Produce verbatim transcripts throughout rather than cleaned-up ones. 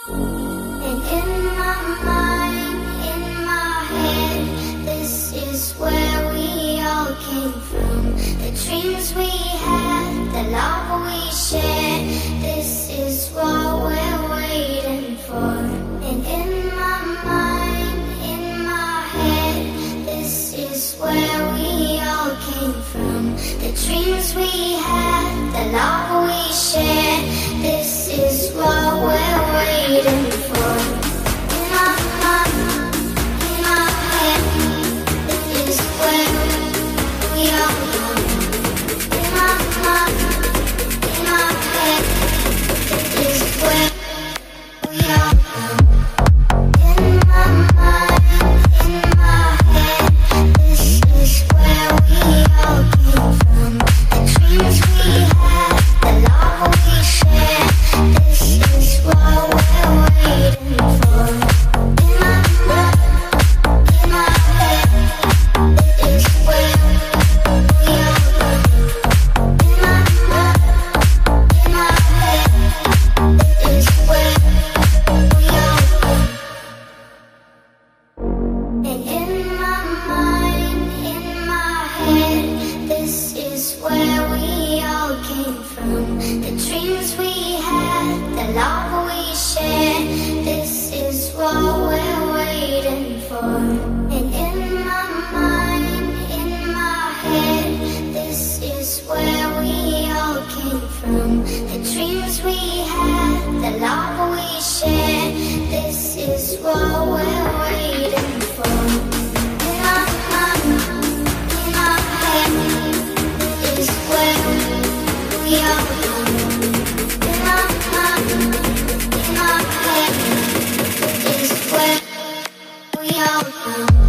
And in my mind, in my head, this is where we all came from. The dreams we had, the love we shared, this is what we're waiting for. And in my mind, in my head, this is where we all came from. The dreams we had, the love we shared, this is what we're waiting for. In my mind, in my head, this is where we all come. In my mind, in my head, this is where we all come. In my mind, in my head, this is where we all came from. The dreams we had, the love we shared, this is what we're waiting for. In my mind, in my head, this is where we all come. In my mind, in my head, this is where we all come. And in my mind, in my head, this is where we all came from. The dreams we had, the love we shared, this is what we're waiting for. And in my mind, in my head, this is where we all came from. The dreams we had, the love we shared, this is what we're waiting for. In my mind, in my head, this is where we all come. In my mind, in my head, this is where we all come.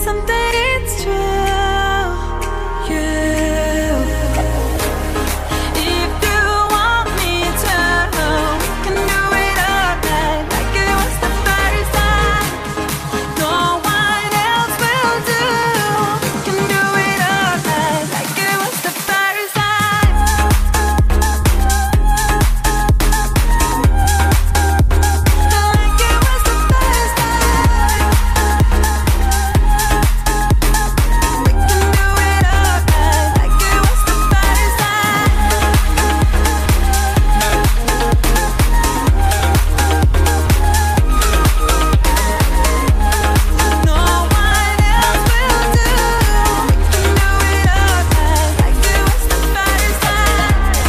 something, it's true. You, if you want me to, can do it all night like it was the first time. No one else will do. Can do it all night like it was the first time. Like it was the first time. We can do it all night like it was the first time. No one else will do. We can do it all night like it was the first time.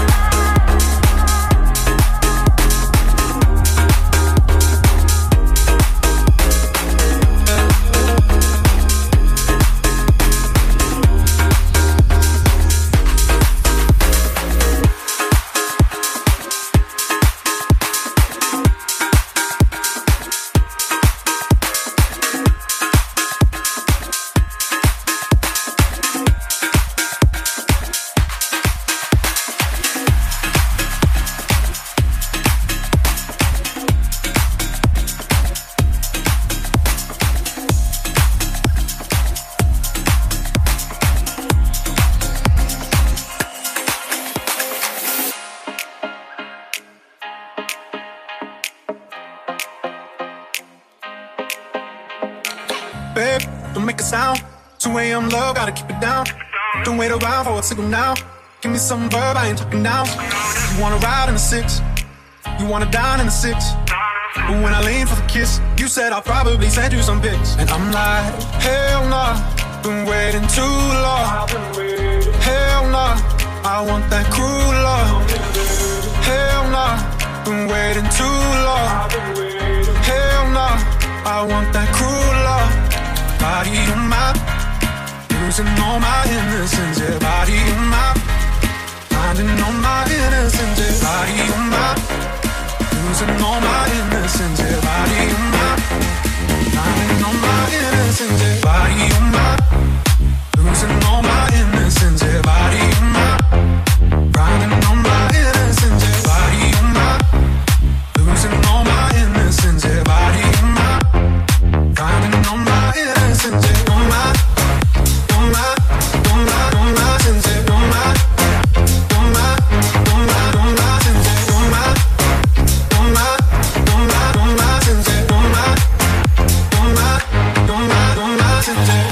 Babe, don't make a sound. two a.m. love, gotta keep it down. Don't wait around for a signal now. Give me some verb, I ain't talking now. You wanna ride in the six, you wanna dine in the six. But when I lean for the kiss, you said I'll probably send you some pics. And I'm like, hell nah, been waiting too long. Hell nah, I want that cruel love. Hell nah, been waiting too long. Hell nah, I want that cruel love. Body on my, losing all my innocence, yeah. Body on my, finding all my innocence, yeah. Body on my, losing all my innocence, yeah. Body on my, finding all my innocence, yeah. Body on my, losing all my innocence, yeah. Body on my, finding all my innocence, yeah. Body on my, losing all my innocence, yeah. Body on my, finding all my innocence, yeah. On my, on my, on my, on my sense, yeah. On my, on my, on my, on my sense, yeah. On my, on my, on my, on my sense, yeah. On my, on my, on my, on my sense, yeah.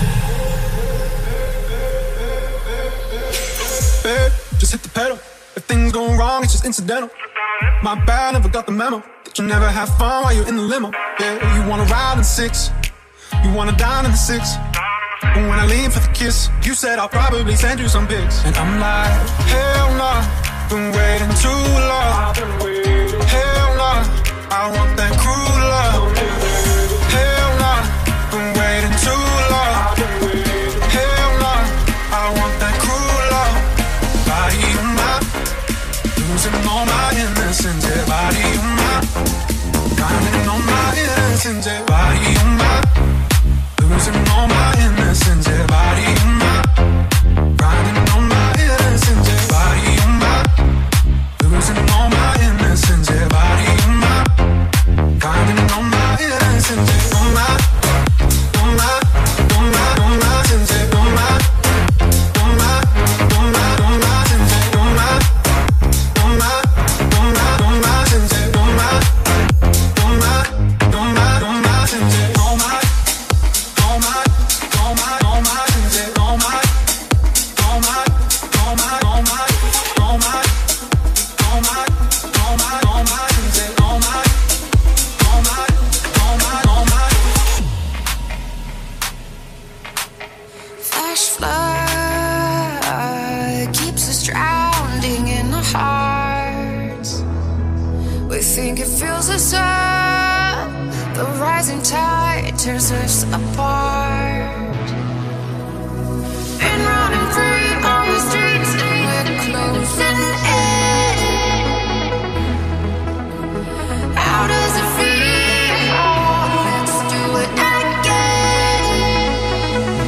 Babe, just hit the pedal. If things go wrong, it's just incidental. My bad, never got the memo that you never have fun while you're in the limo. Yeah, you wanna ride in six, you wanna dine in the six. But when I lean for the kiss, you said I'll probably send you some pics. And I'm like, hell nah, been waiting too long. Hell nah, I want that cruel love. Hell nah, been waiting too long. Hell nah, I want that cruel love. Body on my, losing all my innocence, yeah. Body on my, finding all my innocence, yeah. Body on my, losing all my innocence, yeah. Body on my, finding all my innocence, yeah. Body on my, losing all my innocence, yeah. Body on my, finding all my innocence, yeah. On my, on my, on my, on my sense, yeah. On my, on my, on my, on my sense, yeah. On my, on my, on my, on my sense, yeah. On my, on my, on my, on my sense, yeah. On my, on my, on my, on my sense, yeah. On my, on my, on my, on my, on my, on my, on my, on my sense, yeah. On my, on my, on my, on my. Flash flood keeps us drowning in our hearts. We think it fills us up. The rising tide tears us apart. And running free on the streets, and we're closing in. How does it feel? Let's do it again.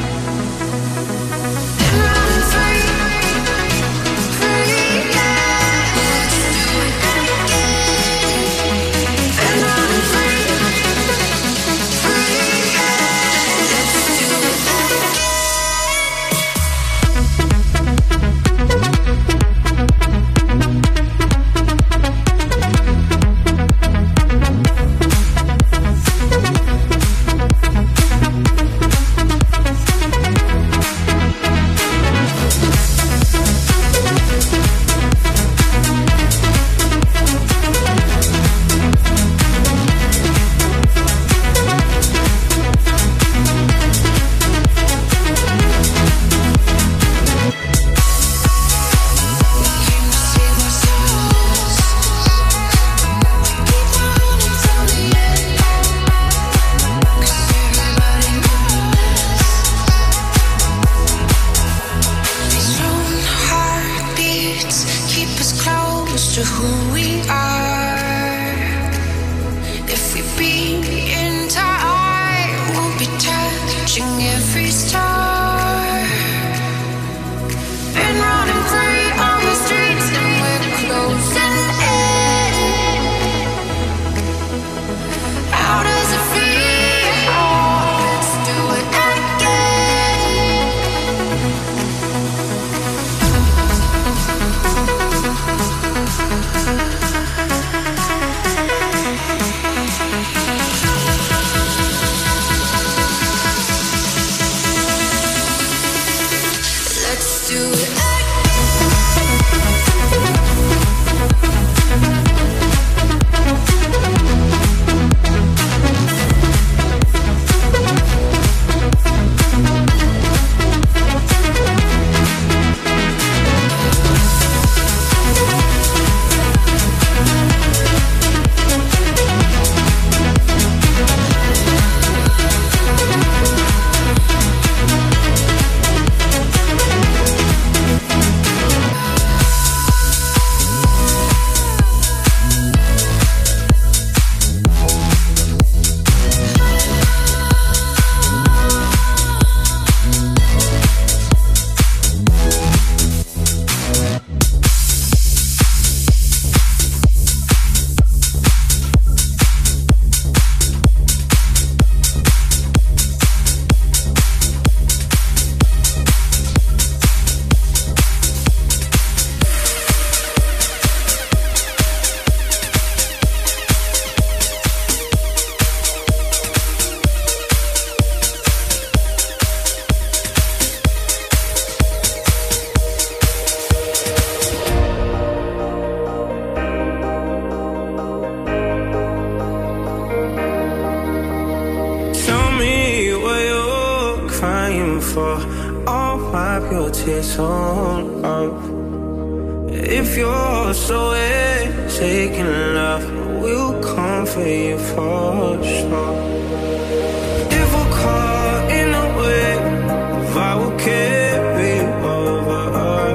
for. I'll wipe your tears on off. If you're so taking love, we'll come for you for sure. If we're caught in a wave, I will carry over.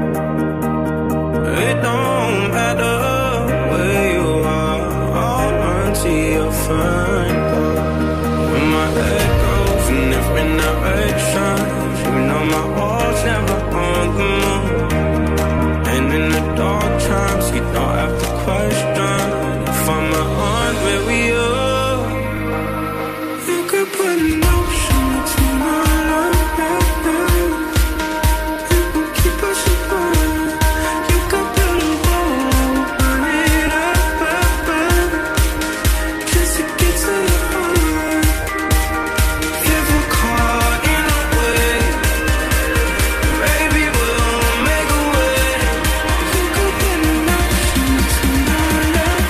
It don't matter where you are, I'll run to your front door. When my head goes in different directions, you know my heart's never on the move. And in the dark times, you don't have to question if I'm not where we are. You could put an ocean between our love. It will keep us apart. You could build a wall, burn it up, just to get to your heart. If we're caught in a wave, baby, we'll make a way. You could put an ocean between our love.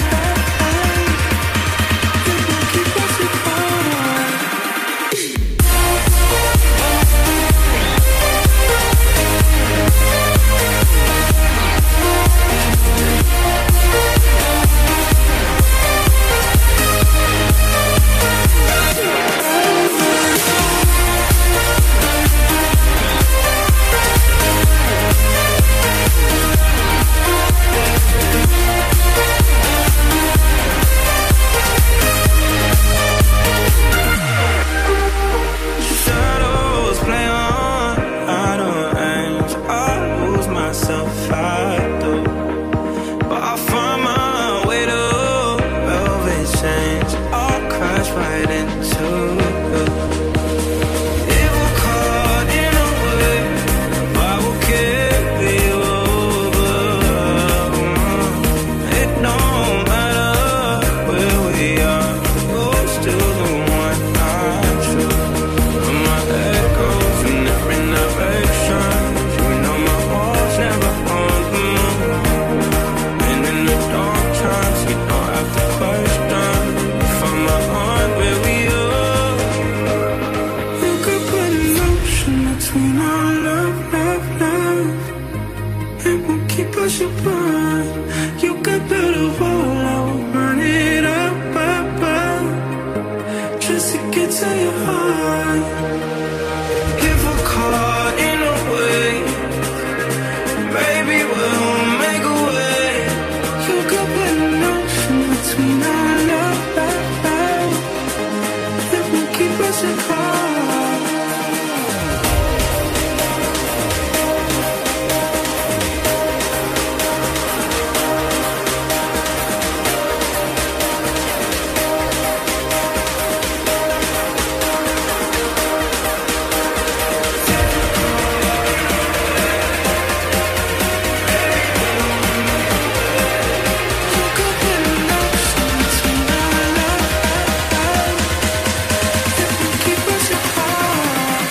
It will keep us apart. Shadows play on, I don't range. I lose myself, I do. But I find my way to velvet change. I'll crash right into you. If we're caught in a wave, I will carry you over. It don't matter where we are, you're still the one I choose. When my head goes in different directions, you know my heart's never on the move. And in the dark times, you don't have to question if I'm not where we are. You could put an ocean between our love, love, love. It won't keep us apart. You could build a wall, I will burn it up, up, up, just to get to your heart. If we're caught in a wave, baby, we'll make a way. You could put an ocean between our love, love, love. It will keep us apart. You could put an ocean between our love, love, love. It will keep us apart.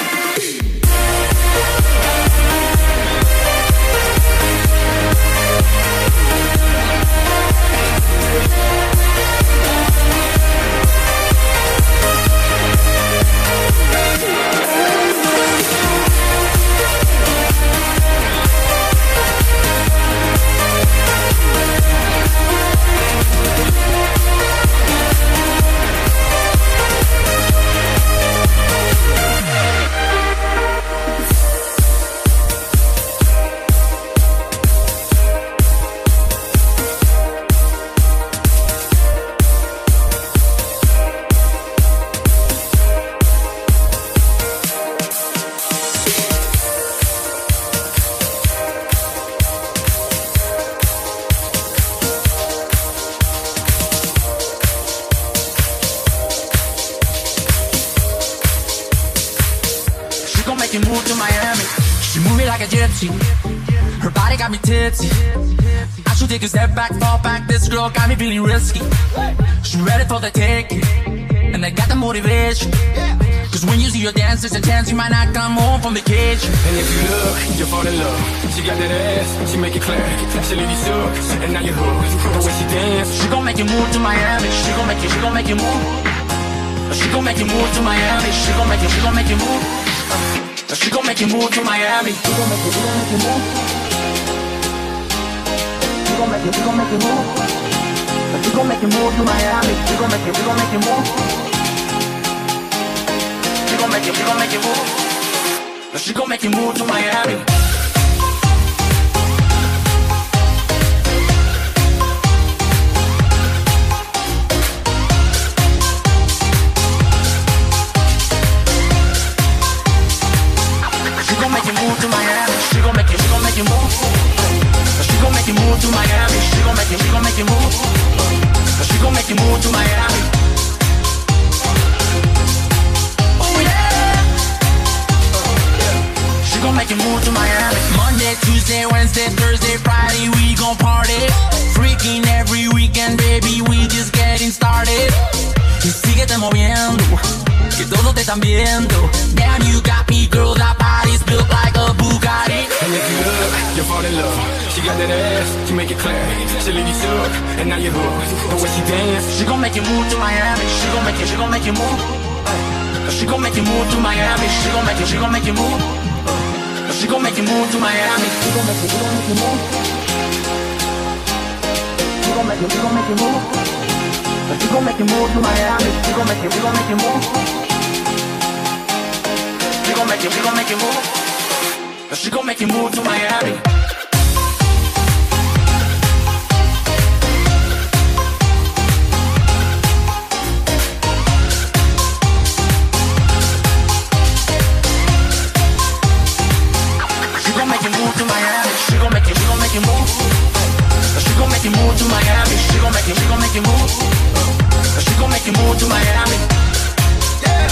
She gon' make you move to Miami. She move me like a gypsy. Her body got me tipsy. I should take a step back, fall back. This girl got me feeling risky. She ready for the taking, and I got the motivation. Cause when you see her dance, there's a chance you might not come home from vacation. And if you look, you fall in love. She got that ass, she make it clap. She leave you shook, and now you're hooked. The way she dance, She gon' make you move to Miami. She gon' make you, she gon' make you move. She gon' make you move to Miami. She gon' make you, she gon' make you move. Now she gon' make you move to Miami. She gon' make you, she gon' make you move. She gon' make you, she gon' make you move. Now she gon' make you move to Miami. She gon' make you, she gon' make you move. She gon' make you, she gon' make you move. Now she gon' make you move to Miami. She gon' make you move to Miami. She gon' make you, she gon' make you move. She gon' make you move to Miami. She gon' make you, she gon' make you move. She gon' make you move to Miami. Oh yeah. She gon' make you move to Miami. Monday, Tuesday, Wednesday, Thursday, Friday, we gon' party. Freaking every weekend, baby, we just getting started. Y síguete moviendo, que todos te están viendo. Damn, you got me, girl, that body's built like a Bugatti. And if you look, you fall in love. She got that ass, she make it clear. She leave you shook, and now you're hooked. The way she dance, She gon' make you move to Miami. She gon' make you, she gon' make you move. She gon' make you move to Miami. She gon' make you, she gon' make you move. She gon' make you move to Miami. She gon' make you, she gon' make you move. She gon' make you, she gon' make you move. She gon' make you move to Miami. She gon' make you, she gon' make you move. She gon' make you, she gon' make you move. She gon' make you move to Miami. She gon' make you move to Miami. She gon' make you, she gon' make you move. She gon' make you move to Miami. She gon' make you, she gon' make you move. She gon' make you move to Miami. Yeah.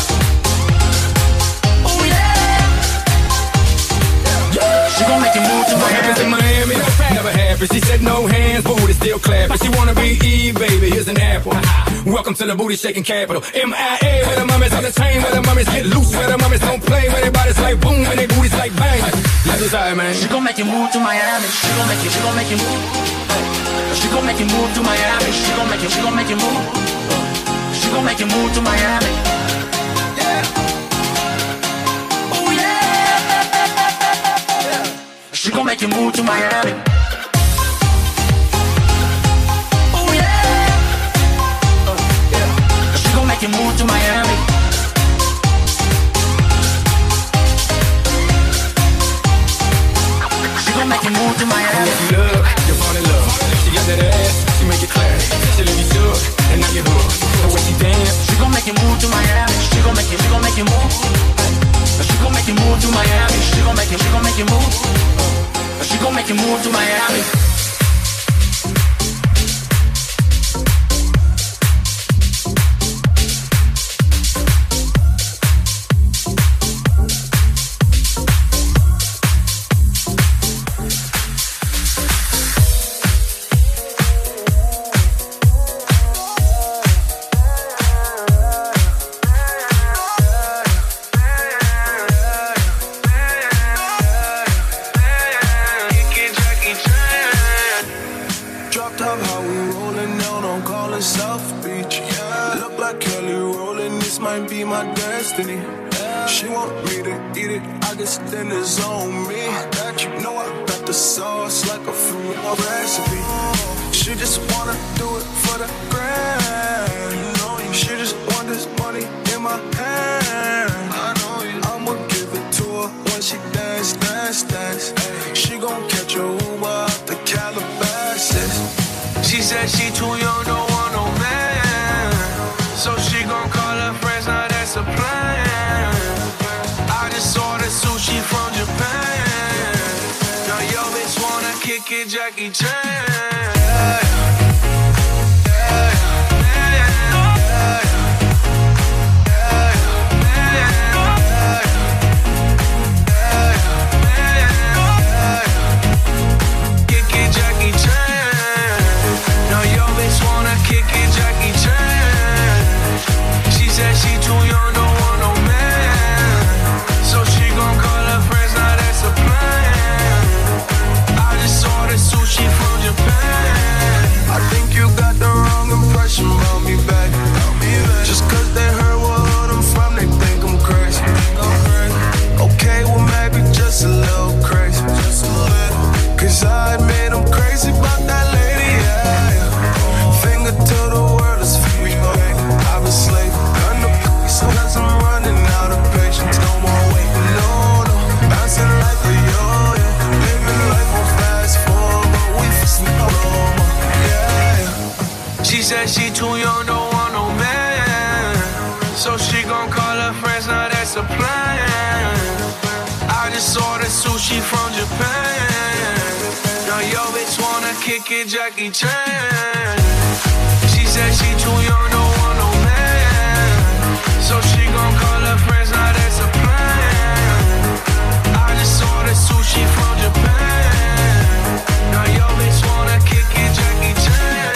Oh yeah. Yeah. She gon' make you move to what happens in Miami. Miami never happened. She said no hands, booty still clapping. She wanna be Eve, baby, here's an apple. Welcome to the booty shaking capital. M I A, where the mummies on the chain, where the mummies get loose, where the mummies don't play, where their bodies like boom, and their booties like bang. That's what's high, man. She gon' make you move to Miami. She gon' make you, she gon' make you move. She gon' make you move to Miami. She gon' make you, she gon' make you move. She gon' make you move to Miami. Yeah. Oh yeah. She gon' make you move to Miami. Oh yeah. She gon' make you move to Miami. She gon' make you move to Miami. If you look, you fall in love. She got that ass, she make it clear. She leave you shook, and now you're hooked. The way she dance, She gon' make you move to Miami. She gon' make you, she gon' make you move. She gon' make you move to Miami. She gon' make you, she gon' make you move. She gon' make you move to Miami. Dropped top, how we rolling down on calling South Beach. Yeah. Look like Kelly rolling, this might be my destiny. Yeah. She want me to eat it, I guess then it's on me. I got you, know I got the sauce like a fruit recipe. She just wanna do it for the grand. You know you. She just want this money in my hand. I know you. I'ma give it to her when she dance, dance, dance. Ay. She gon' catch a Uber out the Calabasas. She said she too young, don't want no man. So she gon' call her friends, now that's a plan. I just ordered sushi from Japan. Now yo bitch wanna kick it, Jackie Chan. She too young, don't want no man. So she gon' call her friends, now that's a plan. I just ordered sushi from Japan. that's a plan. I just ordered sushi from Japan. Now yo bitch wanna kick it, Jackie Chan. She said she too young, don't want no man. So she gon' call her friends, now that's a plan. I just ordered sushi from Japan. Now yo bitch wanna kick it, Jackie Chan.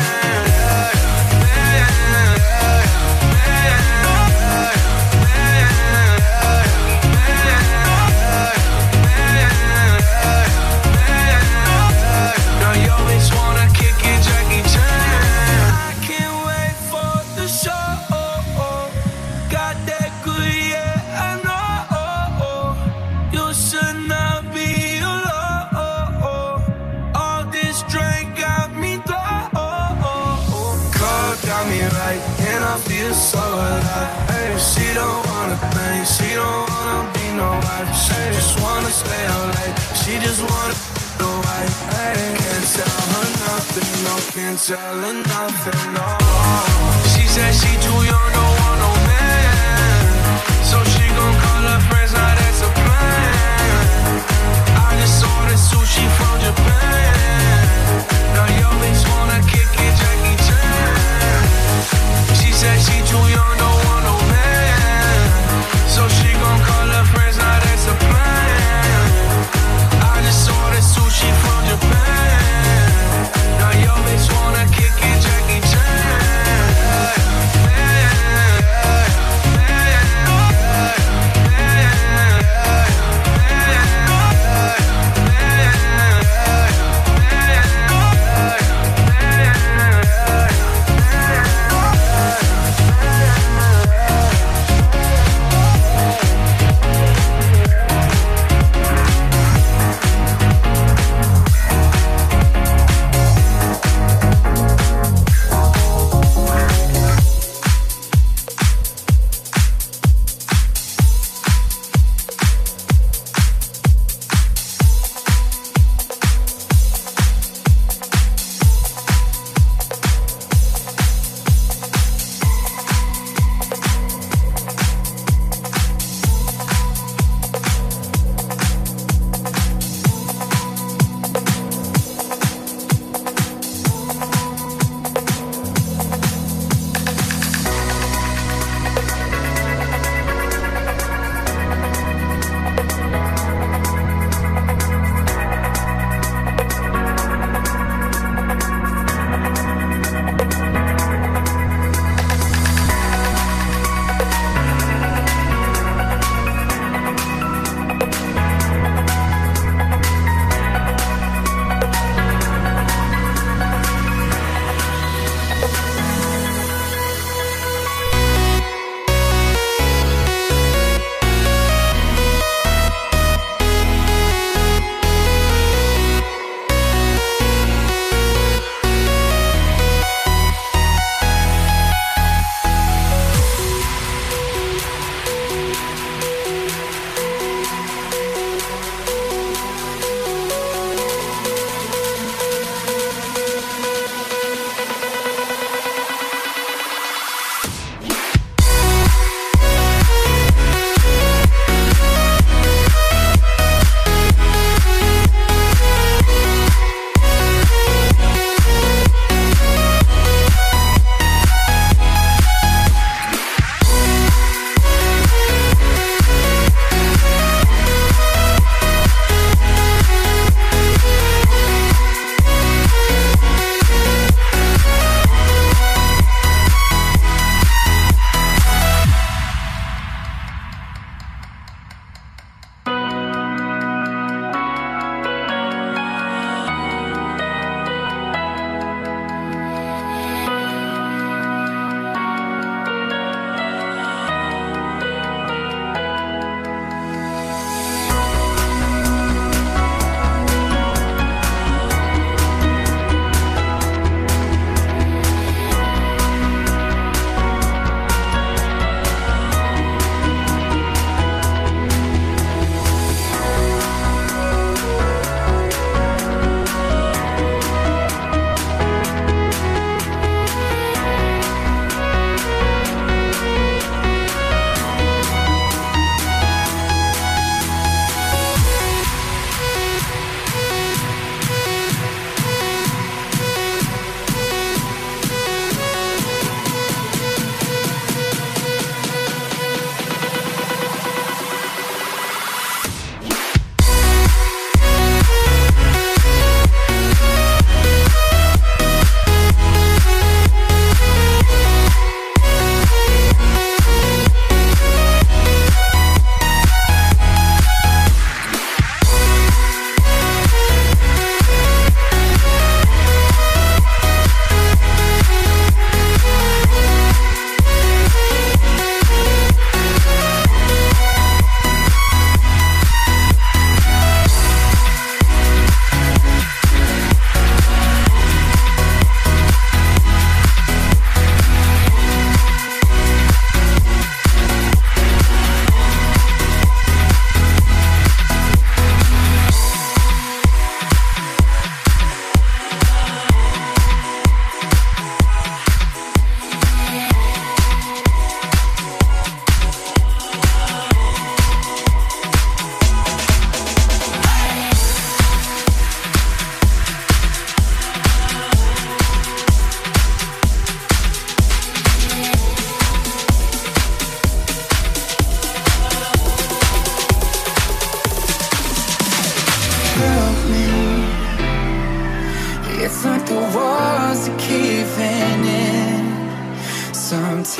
So alive. Hey, she don't wanna think, she don't wanna be no wife. She just wanna stay out late, she just wanna go right. Hey, can't tell her nothing, no, can't tell her nothing, no. She said she too young, don't want no man. So she gon' call her friends, now that's a plan. I just ordered sushi from Japan. Now yo bitch wanna kick it, Jackie Chan. She said she too young, don't want no man. So she gon' call her friends, now that's a plan. I just ordered sushi from Japan. Now yo bitch wanna kick it, Jackie Chan.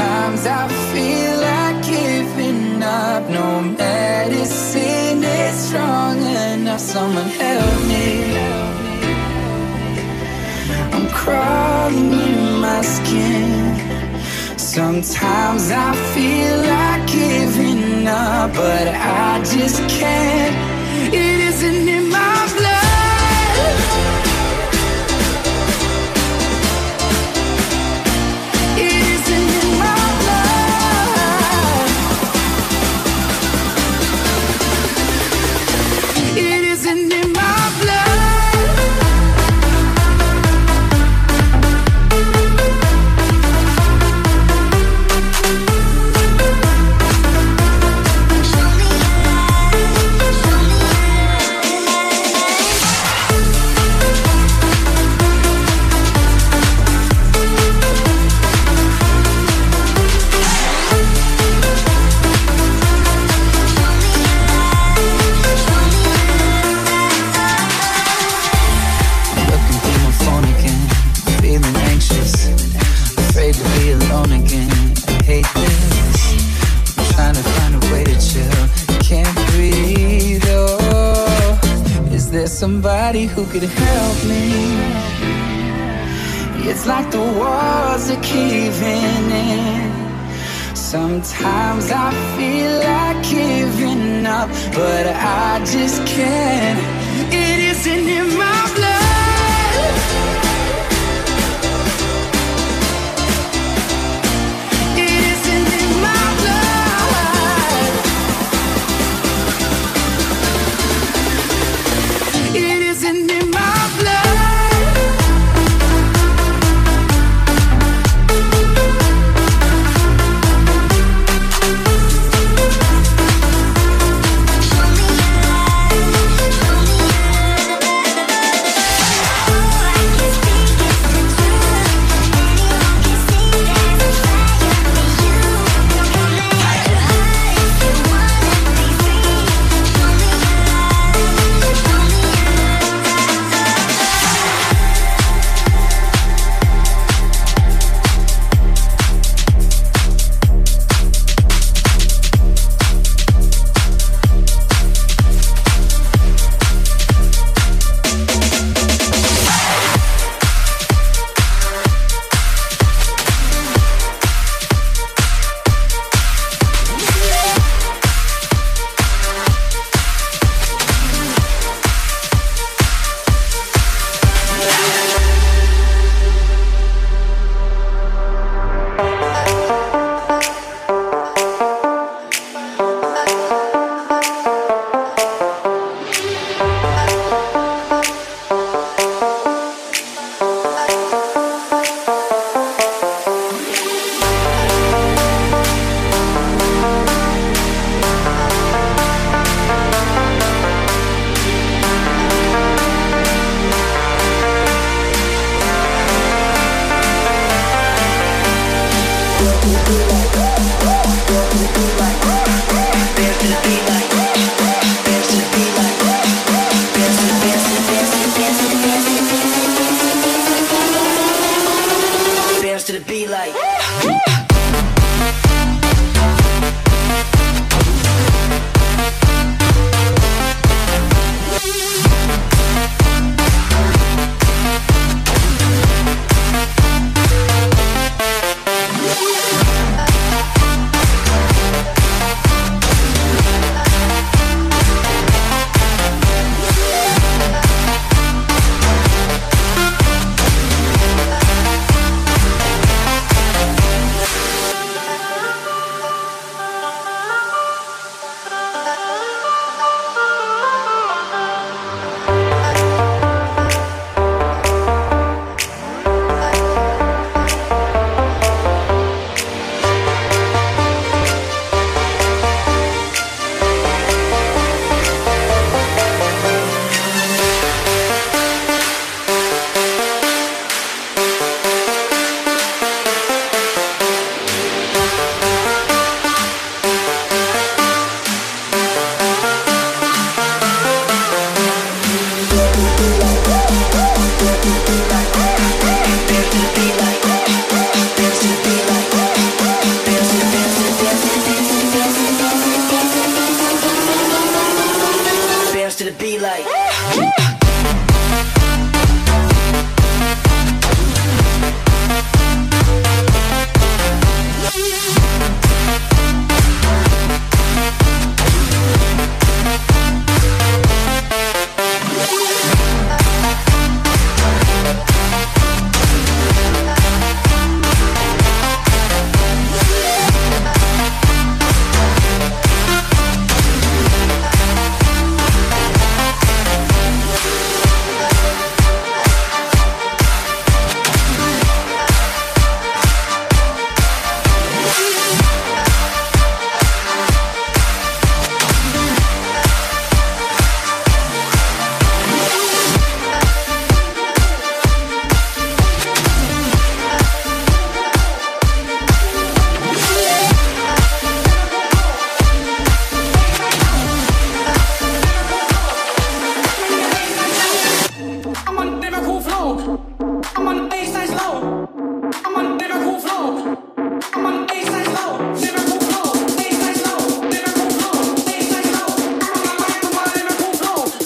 Sometimes I feel like giving up. No medicine is strong enough. Someone help me. I'm crawling in my skin. Sometimes I feel like giving up, but I just can't. It isn't in my blood. It isn't in my blood. It isn't in my blood. Somebody who could help me. It's like the walls are caving in. Sometimes I feel like giving up, but I just can't. It isn't in my blood. It isn't in my blood. It isn't in my blood.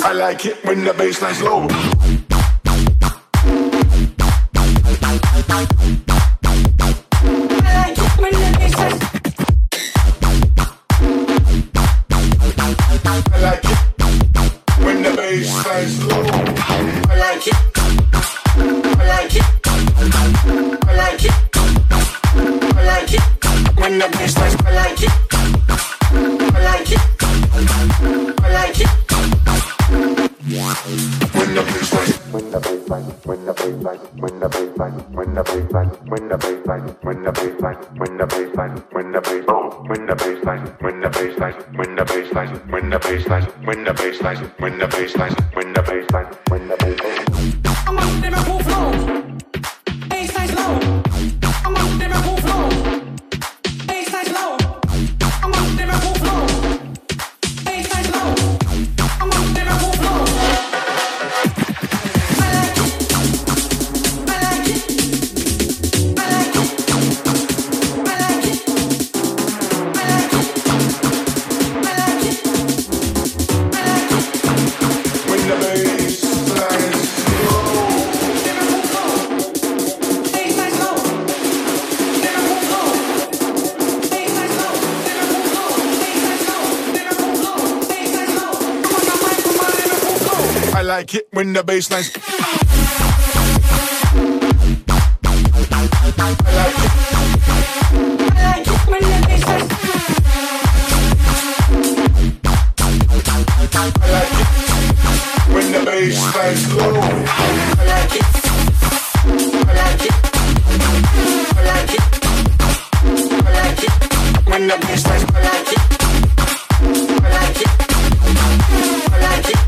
I like it when the bassline's low. Like it when the bassline's I like it. I like it when the bassline's I like it when the bassline's low. I like it. I like it. I like it. I like it when the bassline's I like it. I like it. I like it.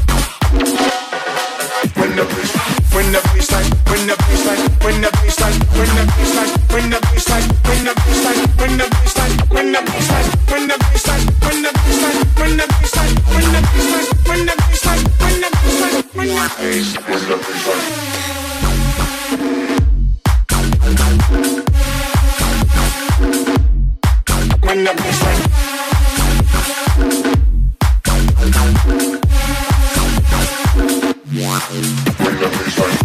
When the bass, when the bassline, when the bassline, when the bassline, when the bassline, when the bassline, when the bassline, when the bassline, when the bassline, when the bassline, when the bassline, when the bassline, when the bassline, when the bassline, when the bassline, when the bassline, when the bassline. When the bassline. When the bassline.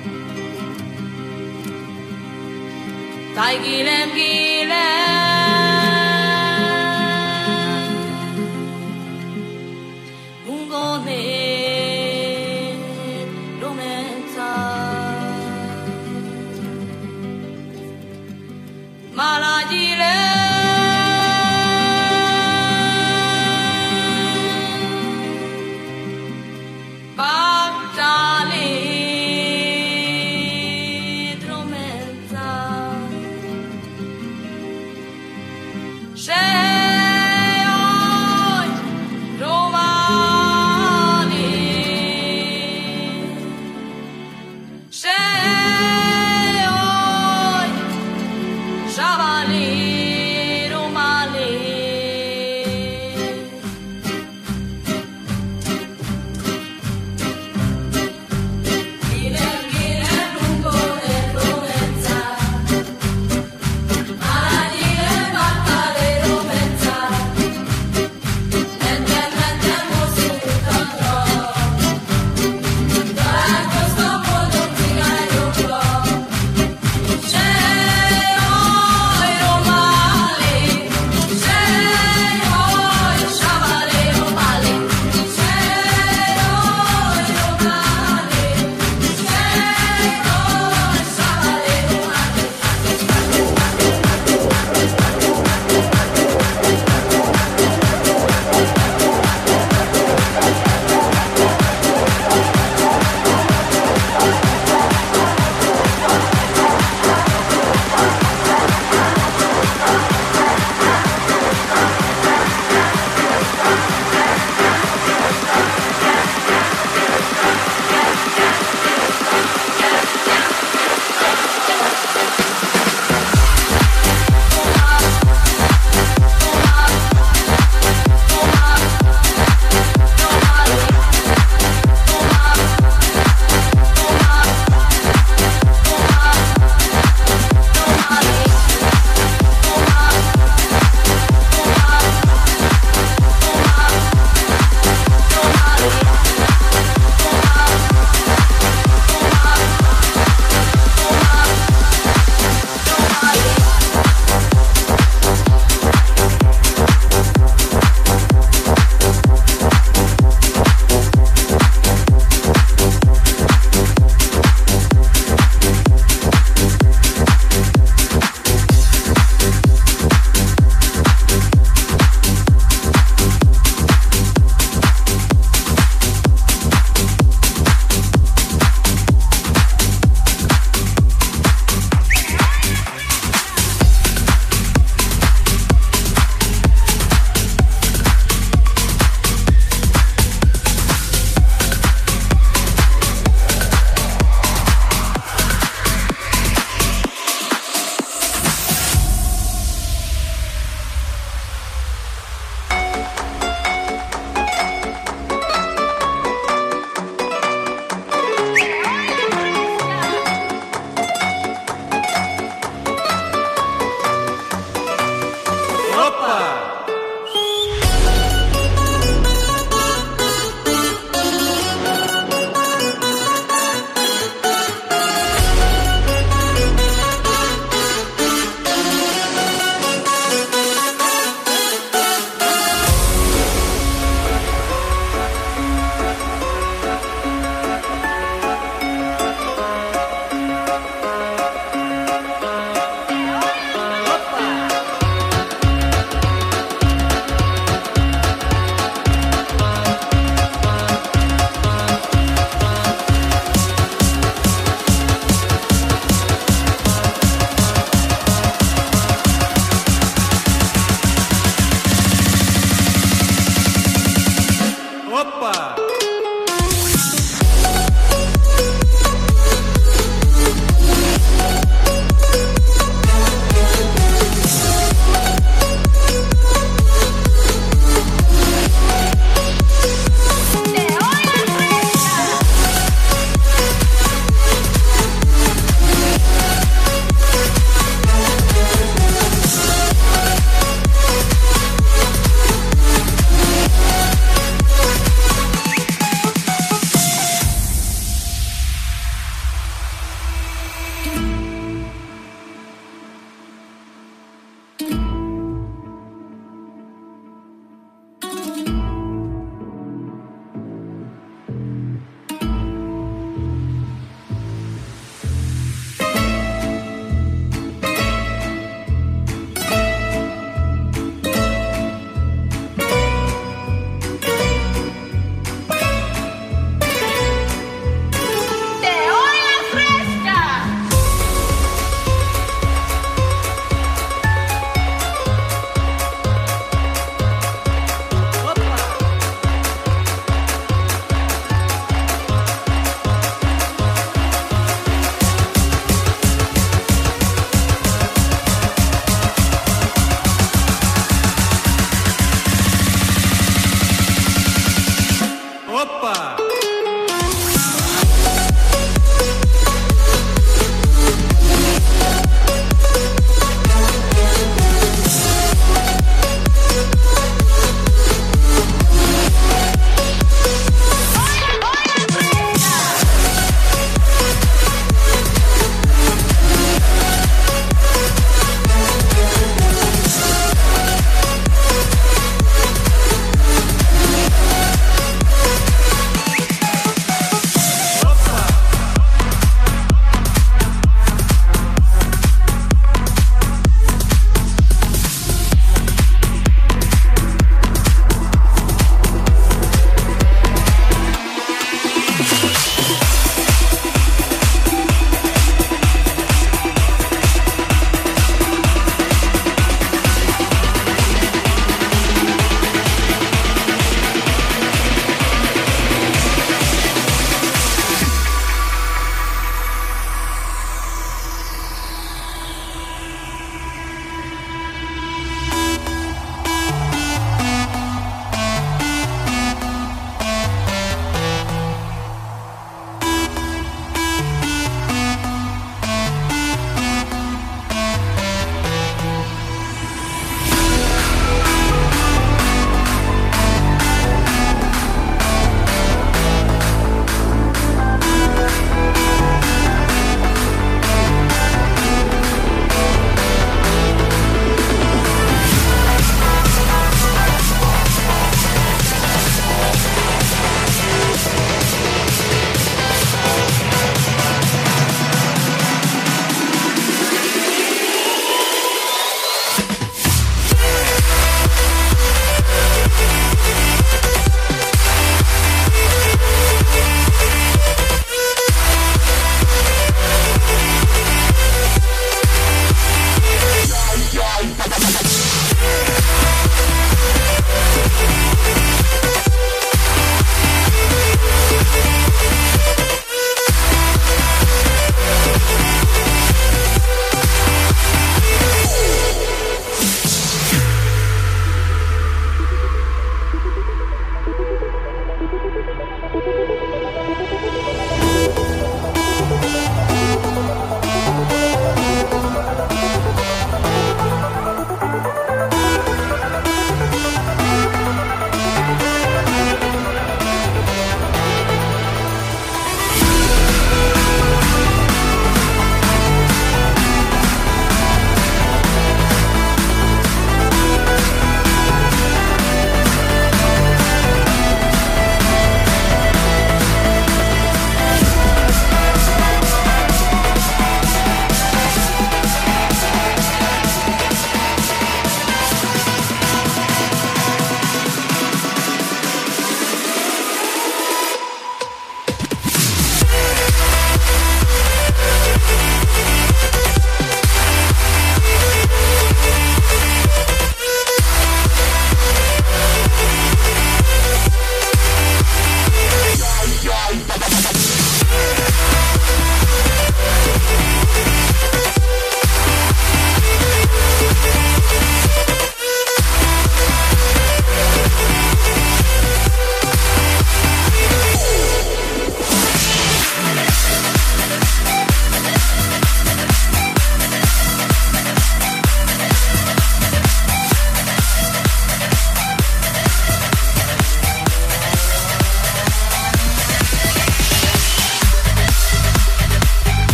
Tai gilem gilem Javali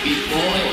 Before